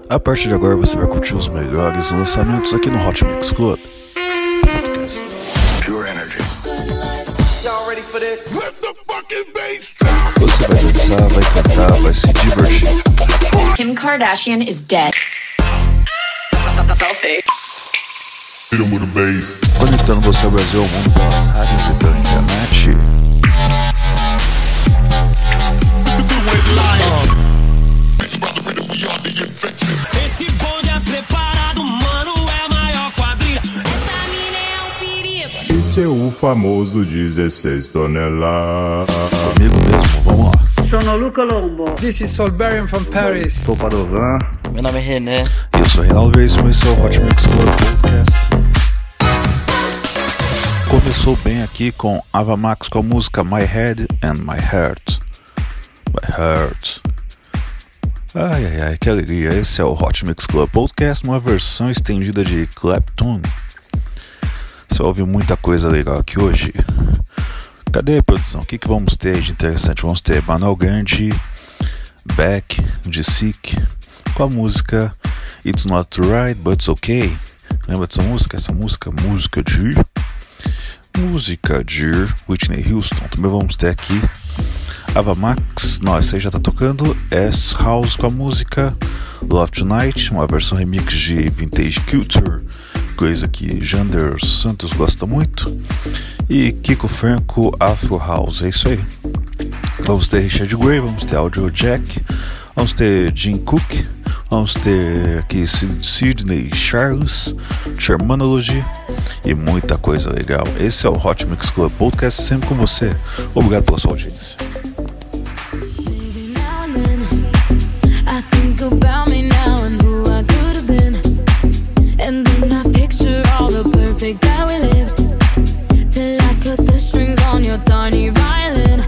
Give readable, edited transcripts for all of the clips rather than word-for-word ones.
A partir de agora você vai curtir os melhores lançamentos aqui no Hot Mix Club Podcast. Pure energy. Y'all ready for this? Let the fucking bass drop. Você vai dançar, vai cantar, vai se divertir. Kim Kardashian is dead. Selfie. Hit him with a bass. Conectando você ao Brasil, ao mundo, pelas rádios e pela internet. Esse bonde é preparado, mano, é a maior quadrilha. Essa mina é um perigo. Esse é o famoso 16 toneladas. Comigo mesmo, vamos lá. Sono Luca Lombo. This is Solberian from Paris. Sou Padovan. Meu nome é René. Eu sou Reinaldo Veríssimo, esse é o Hot Mix Club Podcast. Começou bem aqui com Ava Max com a música My Head and My Heart. My Heart. Ai, que alegria. Esse é o Hot Mix Club Podcast, uma versão estendida de Clapton. Você vai ouvir muita coisa legal aqui hoje. Cadê a produção? O que vamos ter de interessante? Vamos ter Manuel Grande, Beck, de Sick, com a música It's Not Right, But It's Okay. Lembra dessa música? Música de Whitney Houston. Também vamos ter aqui Ava Max, essa aí já tá tocando, S-House com a música Love Tonight, uma versão remix de Vintage Culture, coisa que Jander Santos gosta muito, e Kiko Franco Afro House, é isso aí. Vamos ter Richard Gray, vamos ter Audio Jack, vamos ter Jim Cook, vamos ter aqui Sidney Charles, Shermanology e muita coisa legal. Esse é o Hot Mix Club Podcast, sempre com você. Obrigado pela sua audiência. About me now and who I could have been, and then I picture all the perfect that we lived, till I cut the strings on your tiny violin.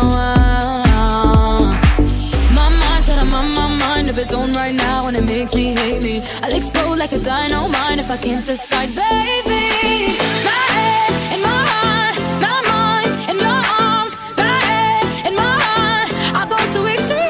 My mind's got a mind of its own right now, and it makes me hate me. I'll explode like a dynamite if I can't decide, baby. My head and my heart, my mind and your arms, my head and my heart, I go to extremes.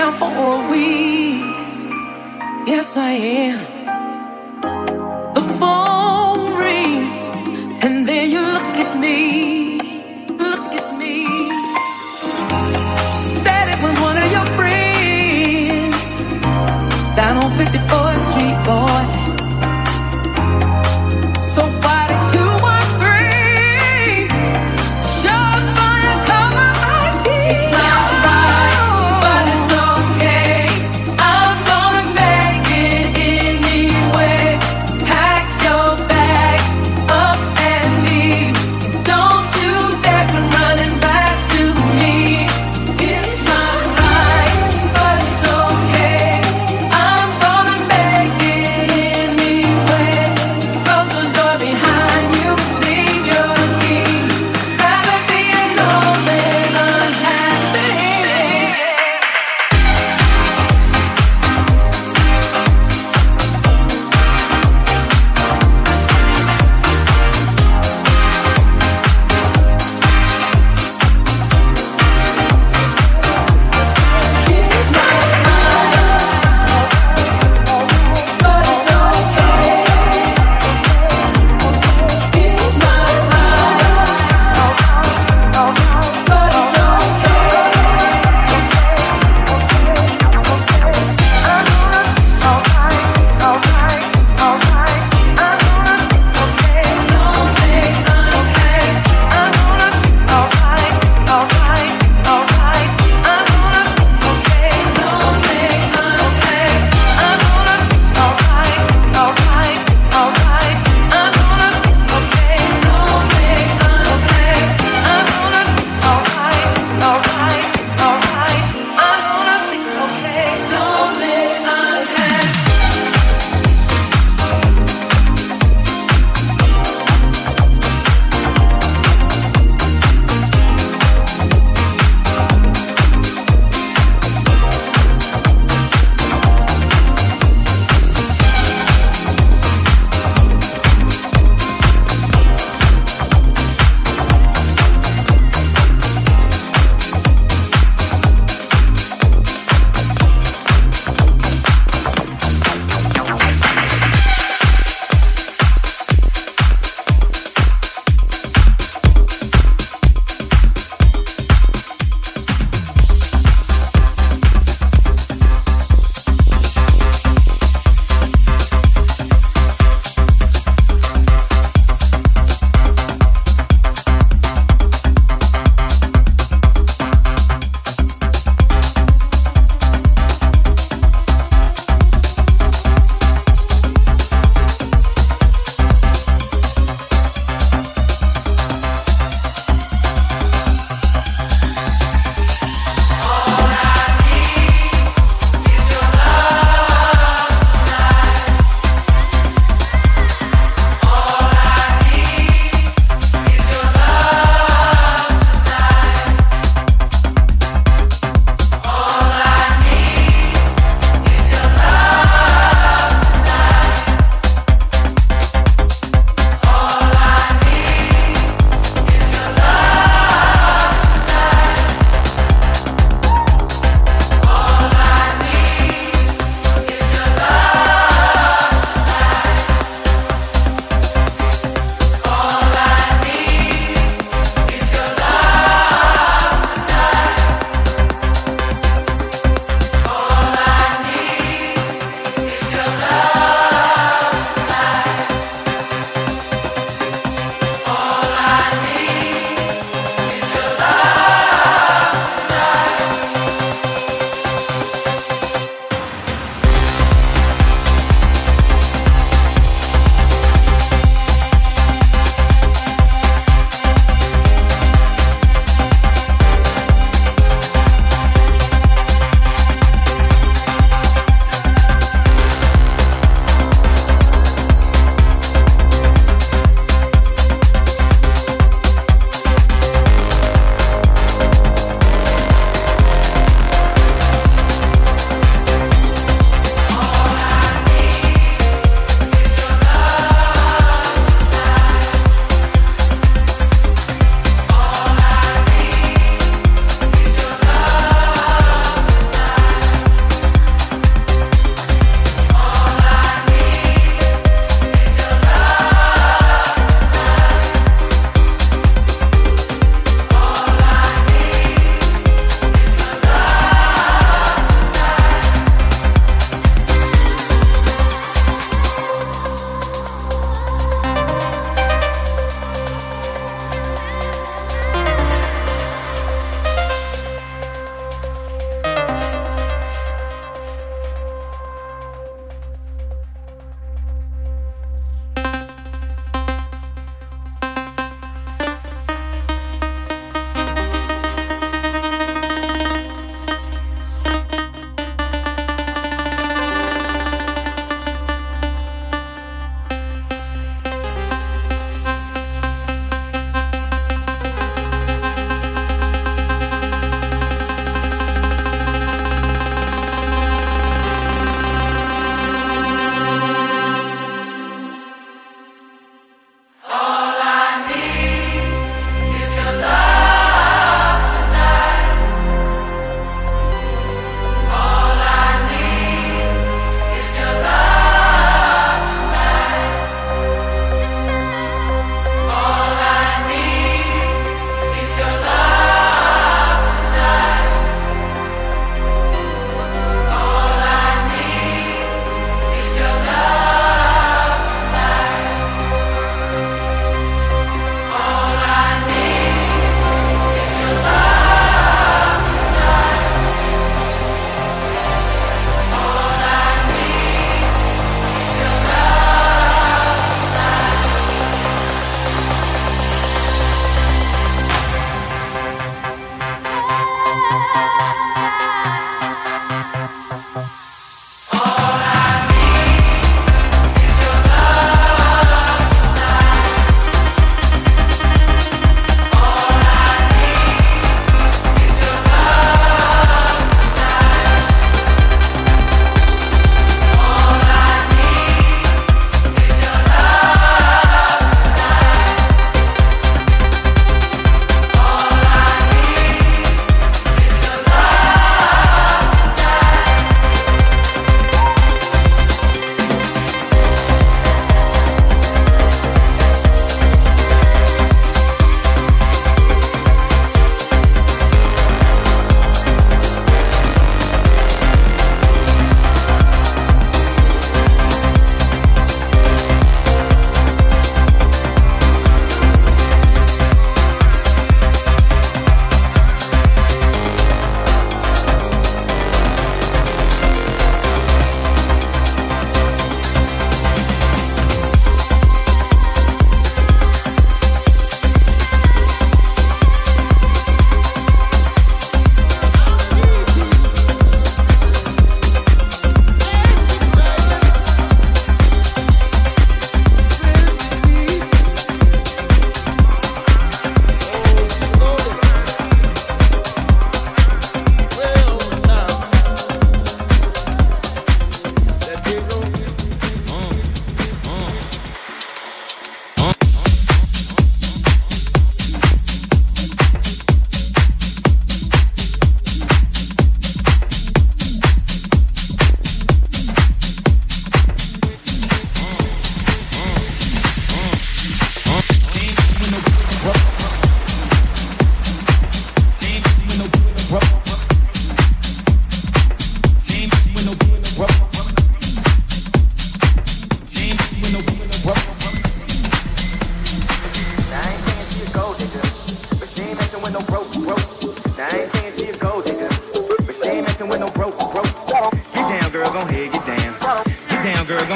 town for a week. Yes, I am. The phone rings, and then you look at me. Look at me. Said it was one of your friends down on 54th Street, boy. So why did 213 show up and come on my key? It's not right, but it's okay. I'm gonna make it anyway. Pack your bags up and leave. Don't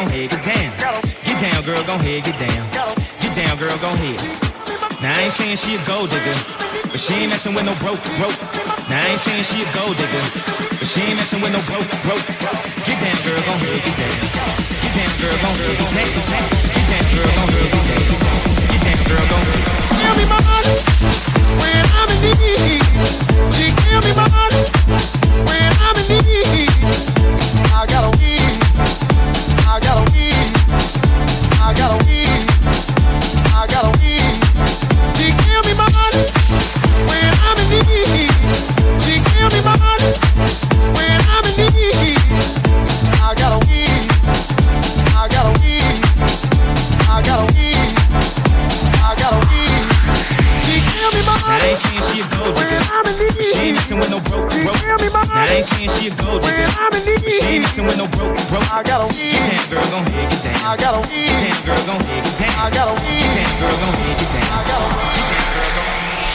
gon' head, get down. Get down, girl, gon' head, get down. Get down, girl, gon' head. Now I ain't saying she a gold digger, but she ain't messing with no broke. Now I ain't saying she a gold digger, but she ain't messing with no broke. Get down, girl, gon' head, get down. Get down, girl, gon' head, get down. Get down, girl, gon' head, get down. Get down, girl, gon' head. Give me money when I'm in need. She give me money when I'm in need. I got a weed. I got a weed. I got a weed. I got a weed. She give me money when I'm in need. She give me money when I'm in need. I got a weed. I got a weed. I got a weed. I got a weed. She give me money. Now I ain't saying she a gold digger, but she ain't messing with no broke. Now I ain't saying she a gold digger, but she ain't messing with no broke. I got a weed. Get down, girl, gon' head, get down. I got a weed. Get down, girl, gon' head, get down. I got a weed. Get down, girl, gon' head, get down. I got a weed. Get down, girl, gon' head.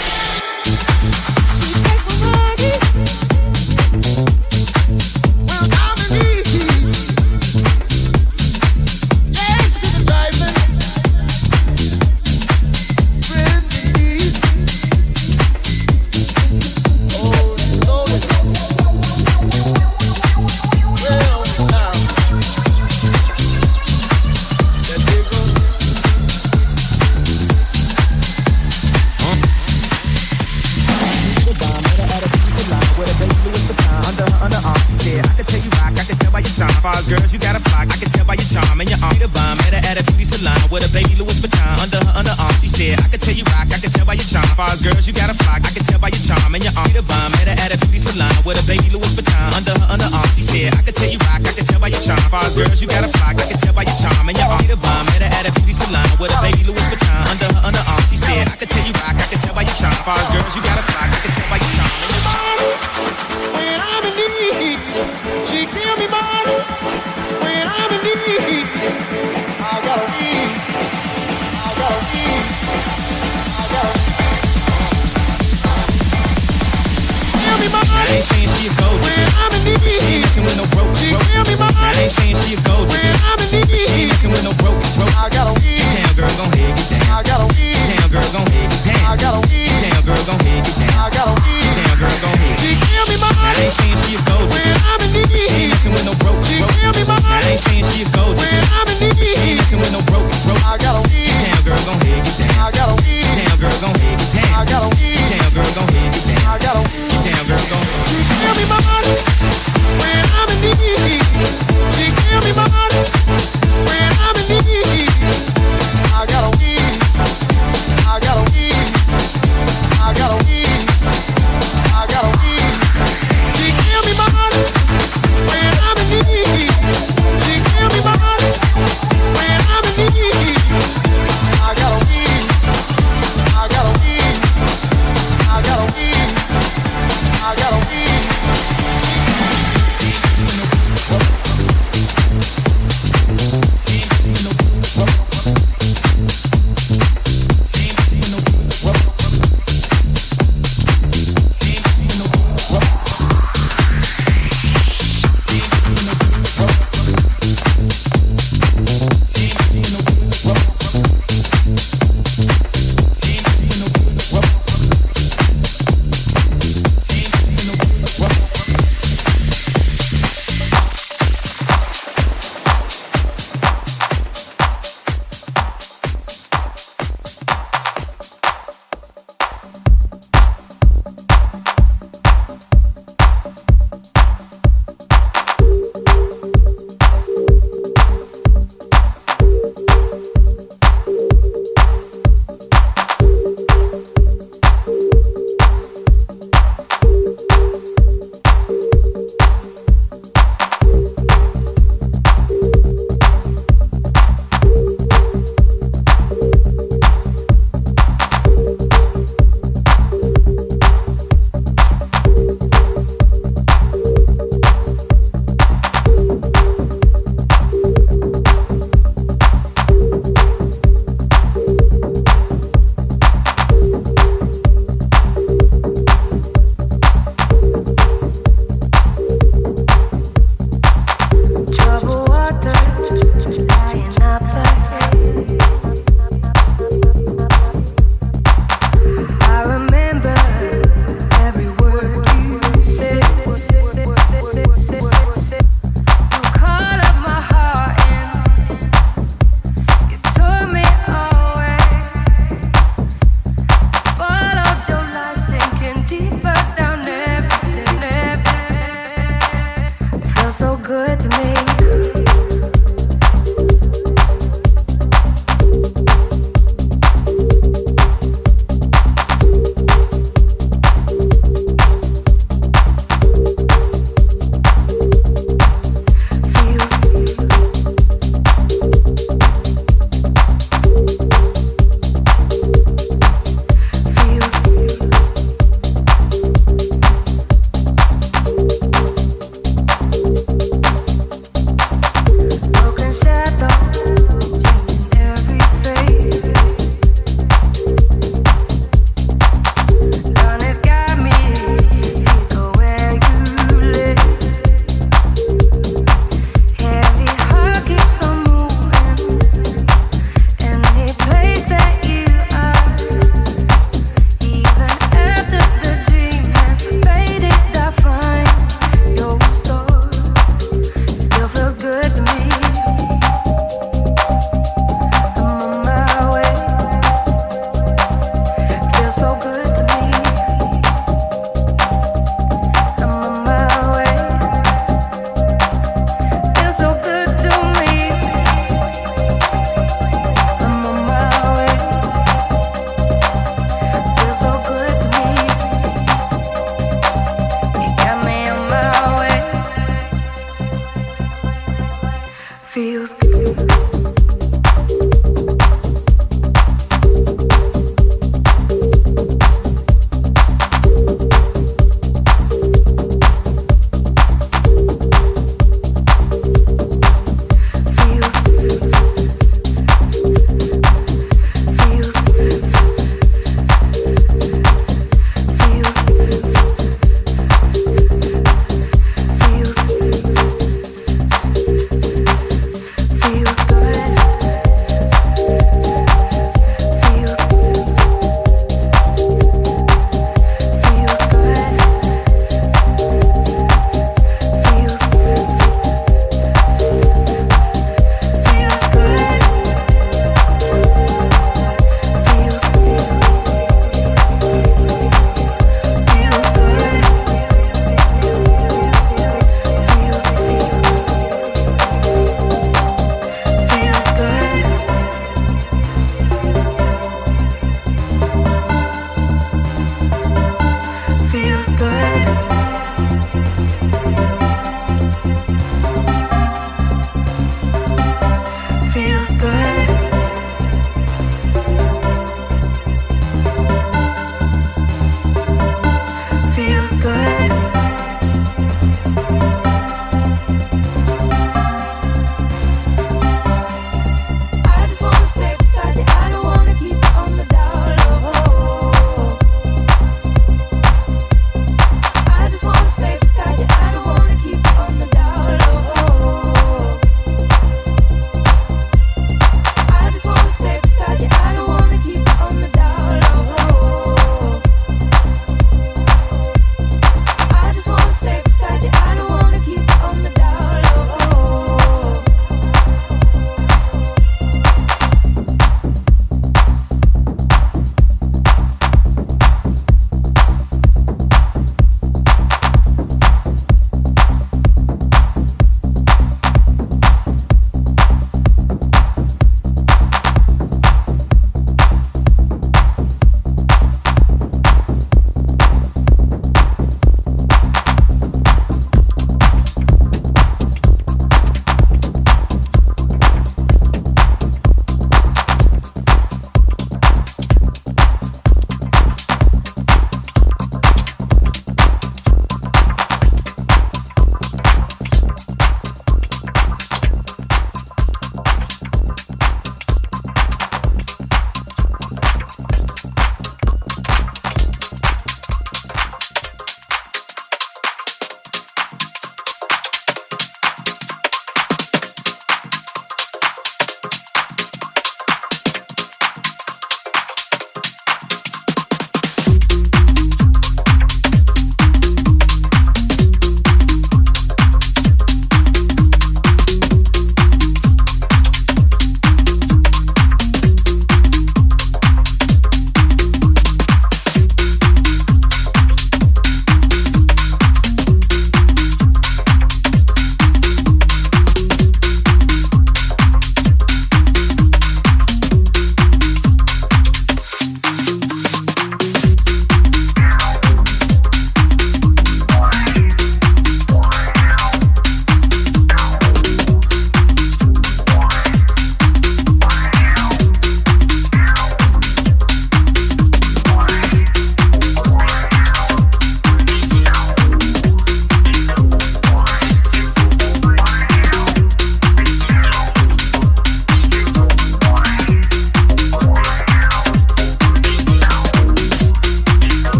Girls, you got a flock, I can tell by your charm and your arm. The bomb, met her at a beauty salon with a baby Louis Vuitton under her underarm. She said, I can tell you rock, I can tell by your charm. Fars girls, you got a flock, I can tell by your charm and your arm. The bomb, met her at a beauty salon with a baby Louis Vuitton under her underarm. She said, I can tell you rock, I can tell by your charm. Fars girls, you got a flock, I can tell by your charm and your arm. The bomb, met her at a beauty salon with a baby Louis Vuitton under her underarm. She said, I can tell you rock, I can tell by your charm. Fars girls, you got a flock, I can tell by your charm and your arm. When I'm in need, she give me money. When I'm in need, I got a weed. I got a weed. I got a weed. Give me money. I ain't saying she a gold digger, when I'm in need, but she ain't messing with no broke. Give me money. I ain't saying she a gold digger, when I'm in need, but she ain't messing with no broke. I got a weed. Get down, girl, gon' head, get down. I got a weed. Get down, girl, gon' head, get down. I got a weed. Get down, girl, gon' head, get down. I got a weed. Get down, girl, gon' head. She give me money. I ain't saying she a gold digger, when I'm in need, but she ain't messing with no broke. Give me money. I ain't saying she a gold digger, when I'm in need, but she ain't messing with no broke. I got a weed. Get down, girl, gon' head, get down. I got a weed. Get down, girl, gon' head, get down. I got a weed. Get down, girl, gon' head, get down. I got a weed. Get down, girl, gon' head. She give me money when I'm in need. She give me money when I'm in need. I got a weed. I got a weed. I got a weed. I got a weed. She give me money when I'm in need. She give me money. Feel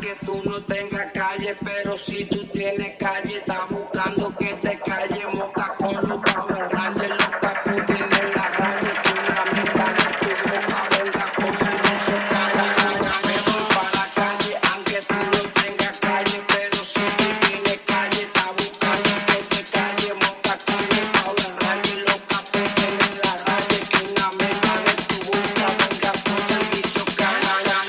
aunque tú no tengas calle, pero si tú tienes calle, estás buscando que te calle, moca con los Power Rangers, los capos tienen la raya, que una mitad de tu boca venga con servicio cara. Me voy para la calle, aunque tú no tengas calle, pero si tú tienes calle, estás buscando que te calle, moca con los Power Rangers, los capos tienen la raya, que una mitad de tu boca venga con servicio cara.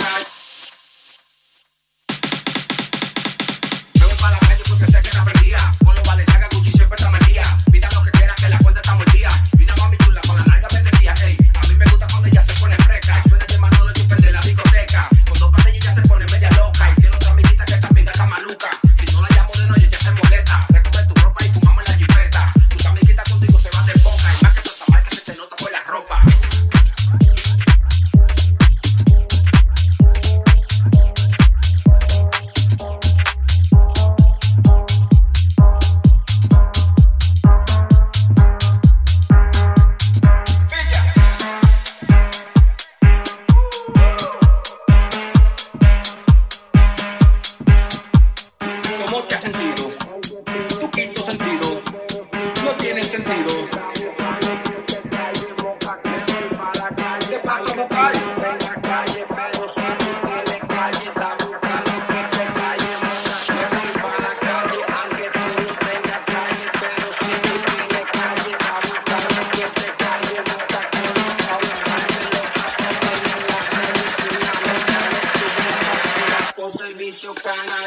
Me voy para la calle porque sé que está prendida. Con los Balenciaga, Gucci siempre está metida. Pida lo que quiera que la cuenta está mordida. Vida mami chula con la nalga bendecida. Ey, a mí me gusta cuando ella se pone fresca. Suena de Manolo y de la discoteca. Con dos pastillas ya se pone media loca. Y tiene otra amiguita que también está maluca. Si no la llamo de noche ya se molesta. Recoge tu ropa y fumamos en la jipeta. Tus amiguitas contigo se van de boca. Y más que toda esa marca se te nota por la ropa. ¿Cómo te has sentido? Tu quinto sentido no tiene sentido. ¿Qué pasa, vocal? Con servicio canal.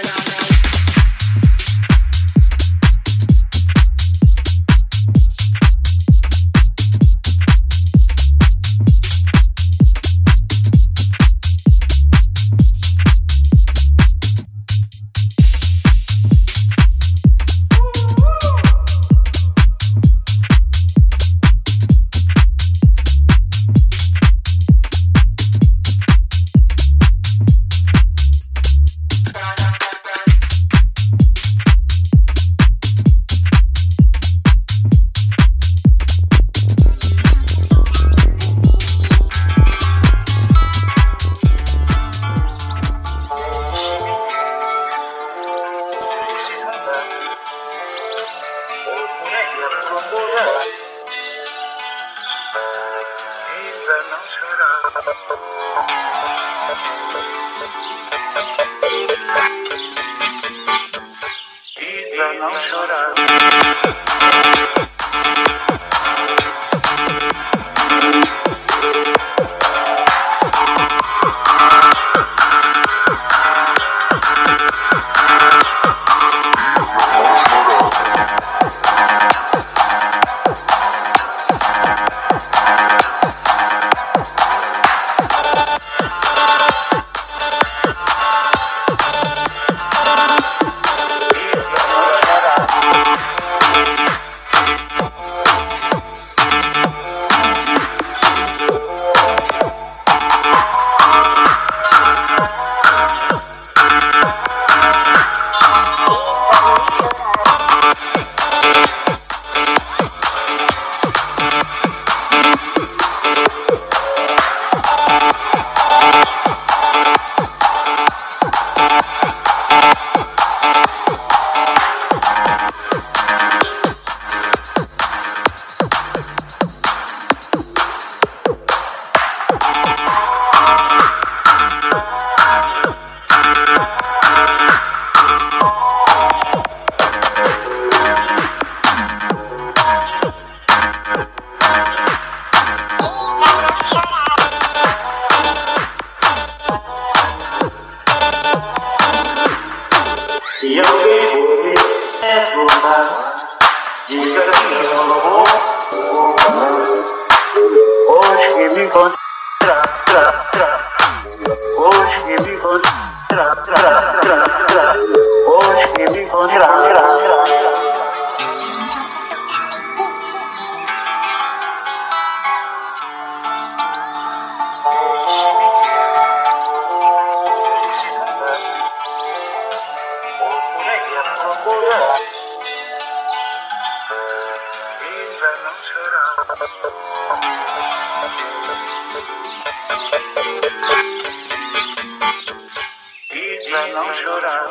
chorar.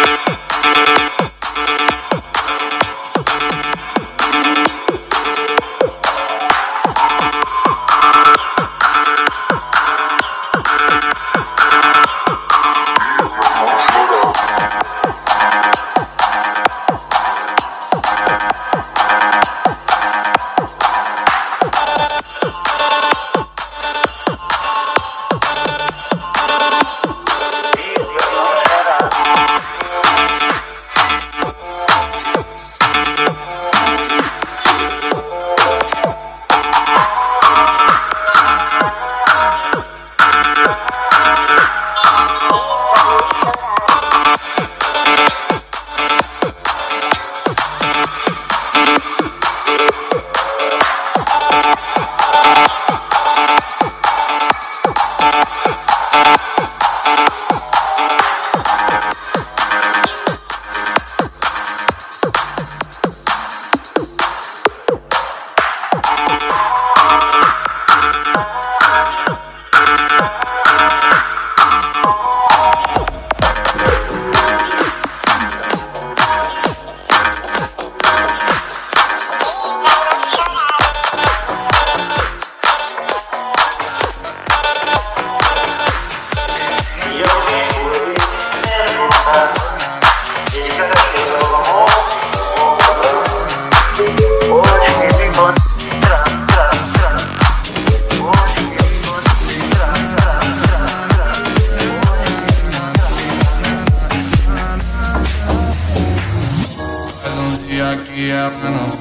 Que ela não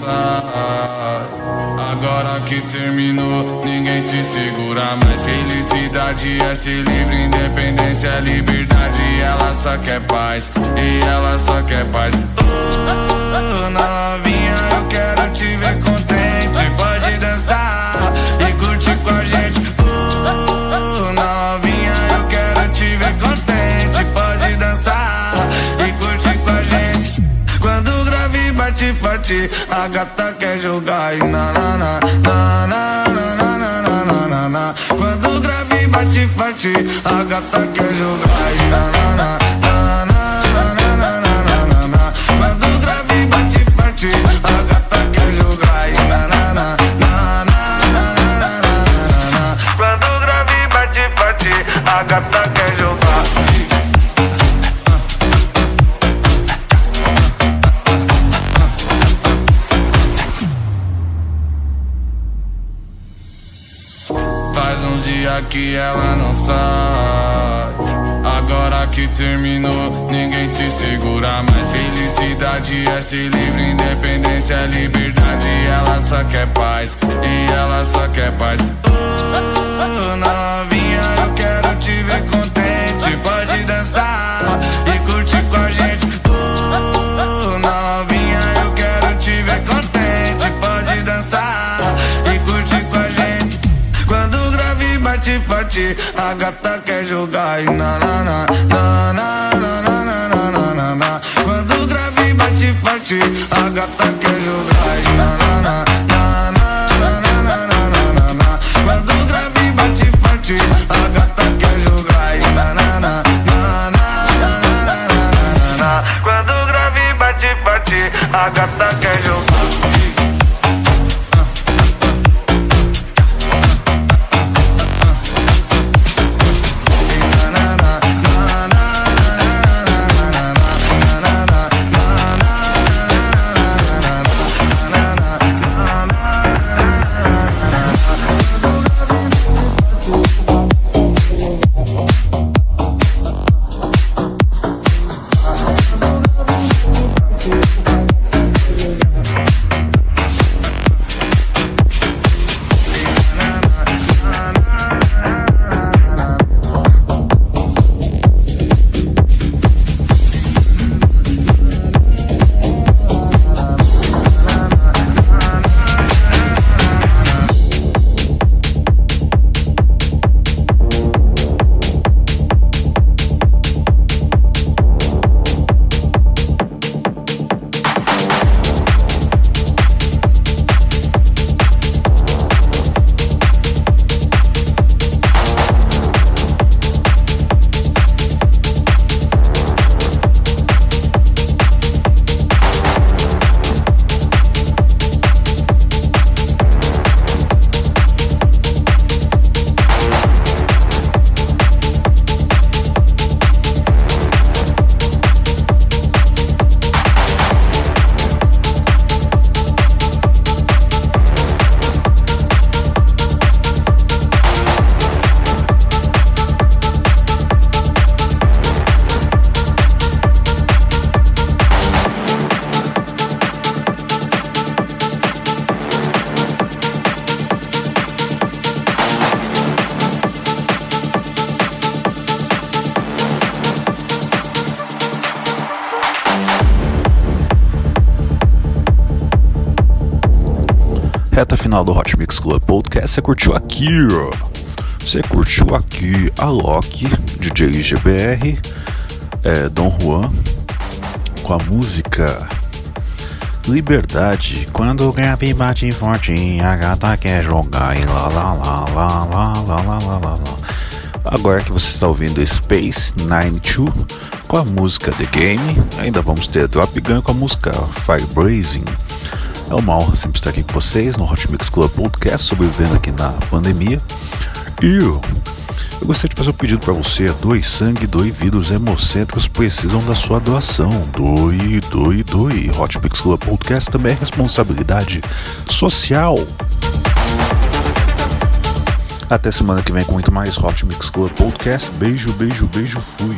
sai. Agora que terminou, ninguém te segura mais. Felicidade é ser livre, independência é liberdade. Ela só quer paz, e ela só quer paz. Novinha, eu quero te ver contente. Pode dançar e curtir com a gente. Novinha, eu quero te ver contente. Pode dançar e curtir com a gente. Quando o grave bate forte, a gata quer jogar e na na na na na na na na na na. Quando o grave bate forte, a gata quer jogar e na na na na na na na na na. Quando o grave bate forte, a gata quer jogar e na na na na na na na na. Quando o grave bate forte, a gata quer jogar. Faz uns dias que ela não sai. Agora que terminou, ninguém te segura mais. Felicidade é ser livre, independência é liberdade. Ela só quer paz, e ela só quer paz. Novinha, eu quero te ver contente. Pode dançar e curtir com a gente. Novinha, eu quero te ver contente. Pode dançar e curtir com a gente. Quando o grave bate forte, a gata quer jogar e na na na na na na na na na na. Quando o grave bate forte, a gata quer jogar e na na na na na na na na na. Quando o grave bate forte, a gata quer jogar e na na na na na na na. Quando o grave bate forte, a gata quer jogar. Reta final do Hot Mix Club Podcast. Você curtiu aqui, ó. Você curtiu aqui a Loki, DJ GBR, Dom Juan, com a música Liberdade. Quando o grave bate forte, a gata quer jogar e lá lá lá lá lá lá lá lá lá. Agora que você está ouvindo Space 92 com a música The Game, ainda vamos ter Drop Gun com a música Fire Blazing. É uma honra sempre estar aqui com vocês no Hot Mix Club Podcast, sobrevivendo aqui na pandemia. E eu gostaria de fazer um pedido para você: doe sangue, doe vidas hemocêntricos, precisam da sua doação. Doe, doe, doe. Hot Mix Club Podcast também é responsabilidade social. Até semana que vem com muito mais Hot Mix Club Podcast. Beijo, beijo, beijo, fui.